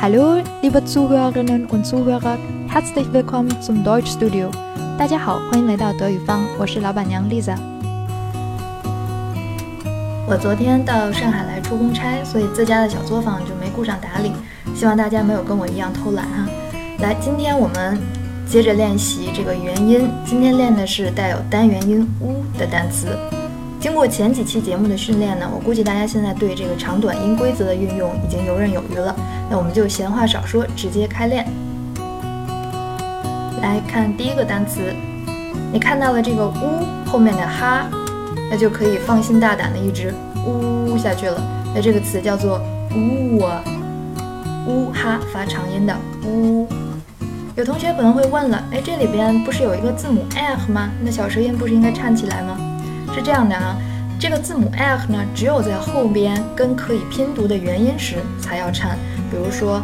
Hallo, liebe Zuhörerinnen und Zuhörer, herzlich willkommen zum Deutschstudio. 大家好，欢迎来到德语坊，我是老板娘 Lisa。我昨天到上海来出公差，所以自家的小作坊就没顾上打理，希望大家没有跟我一样偷懒哈。来，今天我们接着练习这个元音，今天练的是带有单元音 u 的单词。经过前几期节目的训练呢，我估计大家现在对这个长短音规则的运用已经游刃有余了。那我们就闲话少说，直接开练。来看第一个单词，你看到了这个 u 后面的哈，那就可以放心大胆的一直呜下去了。那这个词叫做呜啊，呜哈发长音的呜。有同学可能会问了，哎，这里边不是有一个字母 l 吗？那小舌音不是应该颤起来吗？是这样的啊，这个字母 l 呢，只有在后边跟可以拼读的元音时才要颤，比如说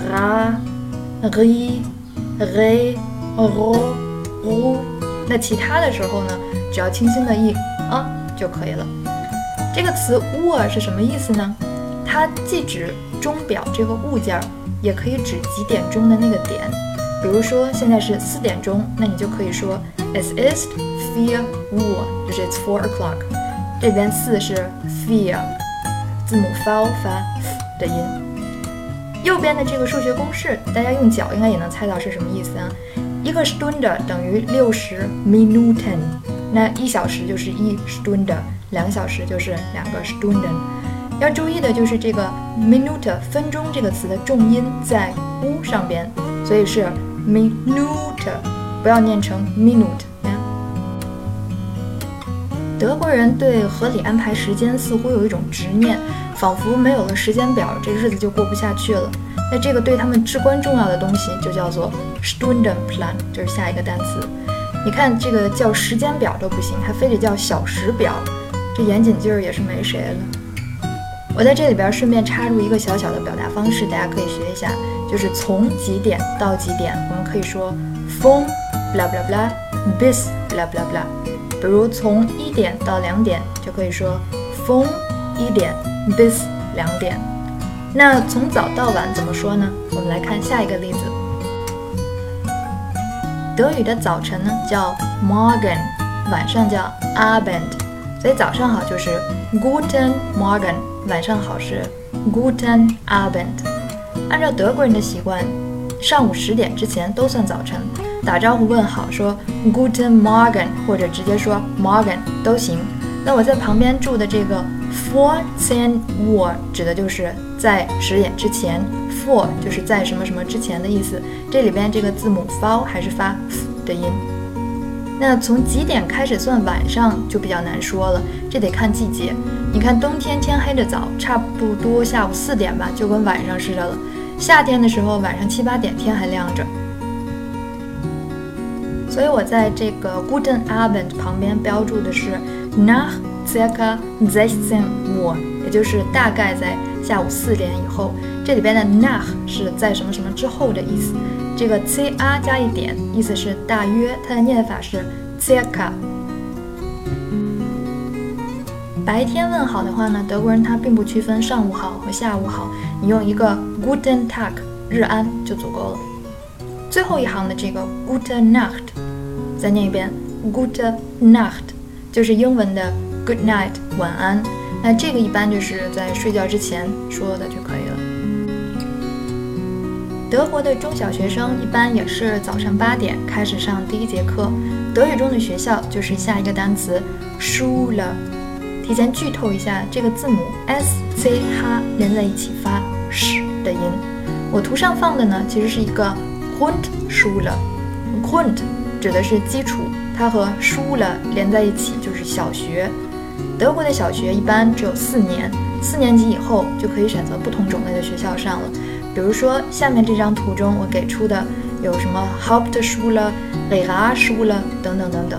ra、ri、re、ro、ru。那其他的时候呢，只要轻轻的一就可以了。这个词 u 是什么意思呢？它既指钟表这个物件，也可以指几点钟的那个点。比如说现在是4点钟，那你就可以说 Es ist 4 Uhr， 就是 It's 4 o'clock。这边4是 4， 字母 v 发 f 的音。右边的这个数学公式，大家用脚应该也能猜到是什么意思啊？一个 Stunde 等于60 Minuten， 那1小时就是1 Stunde， 2小时就是2个 Stunden。要注意的就是这个 Minute 分钟这个词的重音在 u 上边，所以是 Minute， 不要念成 Minute。德国人对合理安排时间似乎有一种执念，仿佛没有了时间表，这日子就过不下去了。那这个对他们至关重要的东西就叫做 Stundenplan， 就是下一个单词。你看这个叫时间表都不行，还非得叫小时表，这严谨劲儿也是没谁了。我在这里边顺便插入一个小小的表达方式，大家可以学一下，就是从几点到几点，我们可以说 von bla bla bla bis bla bla bla。比如从1点到2点，就可以说 von 1点 bis 2点。那从早到晚怎么说呢？我们来看下一个例子。德语的早晨呢叫 Morgen， 晚上叫 Abend， 所以早上好就是 Guten Morgen， 晚上好是 Guten Abend。 按照德国人的习惯，上午10点之前都算早晨，打招呼问好说 Guten Morgen 或者直接说 Morgen 都行。那我在旁边注的这个 vor 10 Uhr 指的就是在10点之前， vor 就是在什么什么之前的意思。这里边这个字母 v 还是发 f 的音。那从几点开始算晚上就比较难说了，这得看季节。你看冬天天黑的早，差不多下午4点吧，就跟晚上似的了。夏天的时候晚上7、8点天还亮着。所以我在这个 Guten Abend 旁边标注的是 nach circa 16 Uhr， 也就是大概在下午4点以后。这里边的 nach 是在什么什么之后的意思，这个 ca 加一点，意思是大约，它的念法是 circa。 白天问好的话呢，德国人他并不区分上午好和下午好，你用一个 Guten Tag 日安就足够了。最后一行的这个 Gute Nacht， 再念一遍 Gute Nacht， 就是英文的 Good night 晚安。那这个一般就是在睡觉之前说的就可以了。德国的中小学生一般也是早上8点开始上第一节课。德语中的学校就是下一个单词 Schule。 提前剧透一下，这个字母 SCH 连在一起发 sh 的音。我图上放的呢，其实是一个 Grundschule。 Grund 指的是基础，它和 Schule 连在一起就是小学。德国的小学一般只有4年，4年级以后就可以选择不同种类的学校上了。比如说下面这张图中我给出的有什么 Hauptschule、Realschule 等等等等。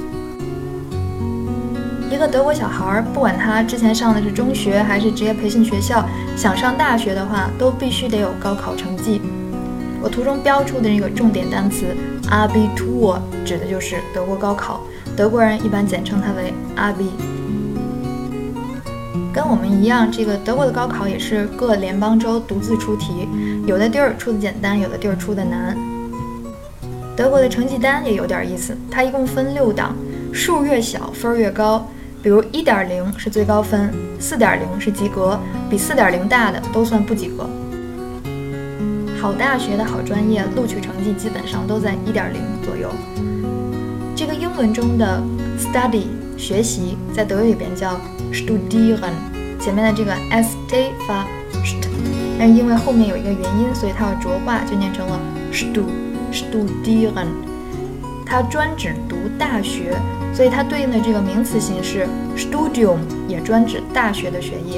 一个德国小孩，不管他之前上的是中学还是职业培训学校，想上大学的话，都必须得有高考成绩。我图中标出的这个重点单词 Abitur 指的就是德国高考，德国人一般简称它为 Abi。 跟我们一样，这个德国的高考也是各联邦州独自出题，有的地儿出的简单，有的地儿出的难。德国的成绩单也有点意思，它一共分6档，数越小分越高。比如1.0是最高分，4.0是及格，比4.0大的都算不及格。好大学的好专业录取成绩基本上都在1.0左右。这个英文中的 study 学习，在德语里边叫 studieren， 前面的这个 st 发 st， 但是因为后面有一个元音，所以它要浊化，就念成了 studieren。它专指读大学，所以它对应的这个名词形式 Studium 也专指大学的学业。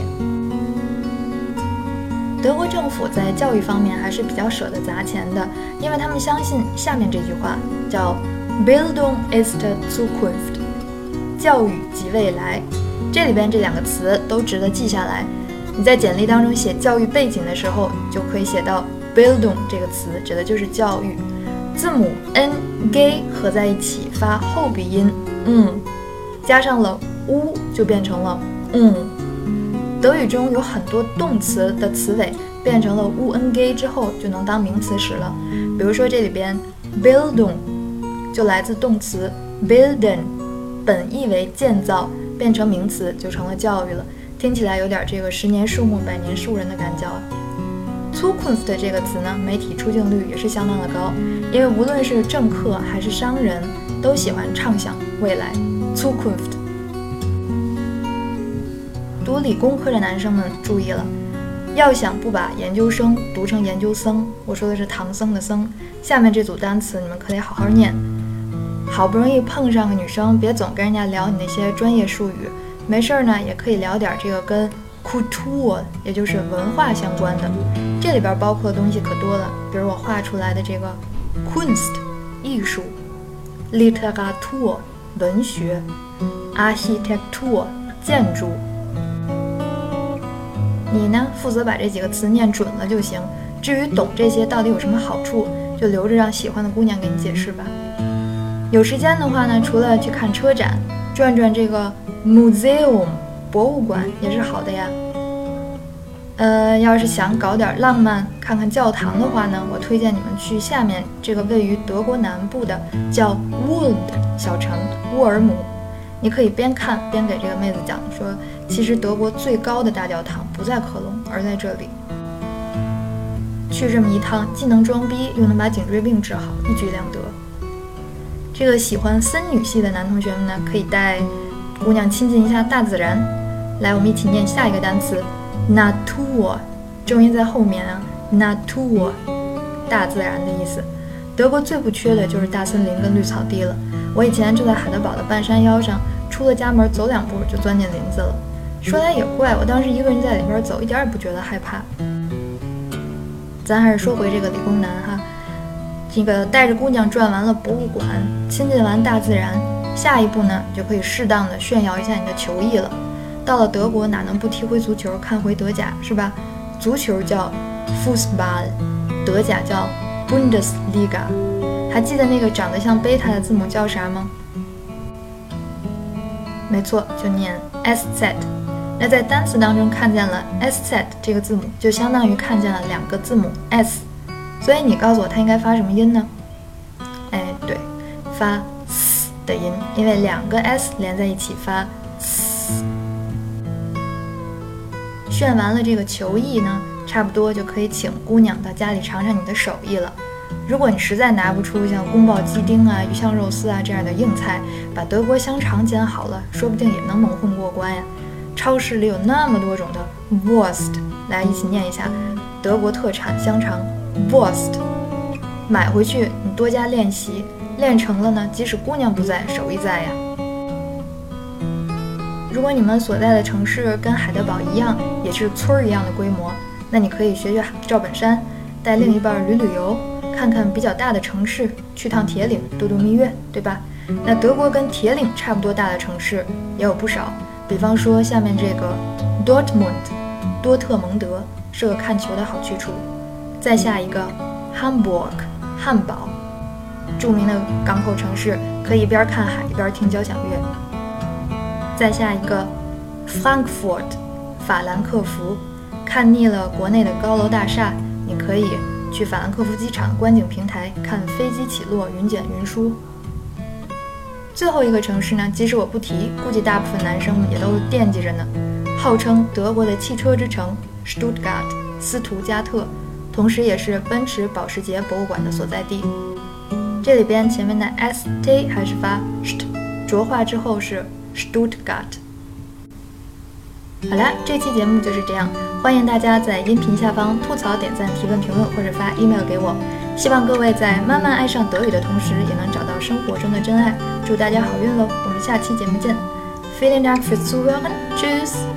德国政府在教育方面还是比较舍得砸钱的，因为他们相信下面这句话叫 Bildung ist Zukunft， 教育即未来。这里边这2个词都值得记下来。你在简历当中写教育背景的时候，就可以写到 Bildung 这个词，指的就是教育。字母 n g 合在一起发后鼻音，加上了 u 就变成了德语中有很多动词的词尾变成了 u-n-g 之后就能当名词使了。比如说这里边 Bildung 就来自动词 bilden， 本意为建造，变成名词就成了教育了。听起来有点这个10年树木百年树人的感觉啊。Zukunft 这个词呢，媒体出镜率也是相当的高，因为无论是政客还是商人，都喜欢畅想未来。Zukunft。读理工科的男生们注意了，要想不把研究生读成研究生，我说的是唐僧的僧，下面这组单词你们可得好好念。好不容易碰上个女生，别总跟人家聊你那些专业术语，没事呢也可以聊点这个跟Kultur 也就是文化相关的，这里边包括的东西可多了，比如我画出来的这个 Kunst 艺术， Literatur 文学， Architektur 建筑。你呢负责把这几个词念准了就行，至于懂这些到底有什么好处，就留着让喜欢的姑娘给你解释吧。有时间的话呢，除了去看车展，转转这个 Museum博物馆也是好的呀。要是想搞点浪漫，看看教堂的话呢，我推荐你们去下面这个位于德国南部的叫 Wald 小城乌尔姆。你可以边看边给这个妹子讲说，其实德国最高的大教堂不在科隆，而在这里。去这么一趟，既能装逼，又能把颈椎病治好，一举两得。这个喜欢森女系的男同学们呢，可以带姑娘亲近一下大自然。来，我们一起念下一个单词 Natur， 重音在后面啊 Natur， 大自然的意思。德国最不缺的就是大森林跟绿草地了。我以前住在海德堡的半山腰上，出了家门走2步就钻进林子了。说来也怪，我当时一个人在里边走，一点也不觉得害怕。咱还是说回这个理工男哈，这个带着姑娘转完了博物馆，亲近完大自然，下一步呢就可以适当的炫耀一下你的球艺了。到了德国哪能不踢回足球，看回德甲是吧？足球叫 Fußball， 德甲叫 Bundesliga。还记得那个长得像贝塔的字母叫啥吗？没错，就念 SZ。 那在单词当中看见了 SZ 这个字母，就相当于看见了2个字母 S， 所以你告诉我它应该发什么音呢？哎，对，发 S 的音，因为2个 S 连在一起发 S。 炫完了这个球艺呢，差不多就可以请姑娘到家里尝尝你的手艺了。如果你实在拿不出像宫保鸡丁啊、鱼香肉丝啊这样的硬菜，把德国香肠煎好了，说不定也能蒙混过关呀。超市里有那么多种的 Wurst， 来一起念一下德国特产香肠 Wurst。 买回去你多加练习，练成了呢，即使姑娘不在，手艺在呀。如果你们所在的城市跟海德堡一样，也是村儿一样的规模，那你可以学学赵本山，带另一半旅游，看看比较大的城市，去趟铁岭度度蜜月，对吧？那德国跟铁岭差不多大的城市也有不少，比方说下面这个 Dortmund 多特蒙德是个看球的好去处，再下一个 Hamburg 汉堡，著名的港口城市，可以一边看海一边听交响乐。再下一个 Frankfurt 法兰克福。看腻了国内的高楼大厦，你可以去法兰克福机场观景平台看飞机起落、云卷云舒。最后一个城市呢，即使我不提，估计大部分男生也都惦记着呢。号称德国的汽车之城 Stuttgart 斯图加特，同时也是奔驰保时捷博物馆的所在地。这里边前面的 st 还是发 st， 浊化之后是 Stuttgart。好了，这期节目就是这样，欢迎大家在音频下方吐槽、点赞、提问、评论或者发 email 给我。希望各位在慢慢爱上德语的同时，也能找到生活中的真爱。祝大家好运喽！我们下期节目见。Vielen Dank fürs Zuhören. Tschüss.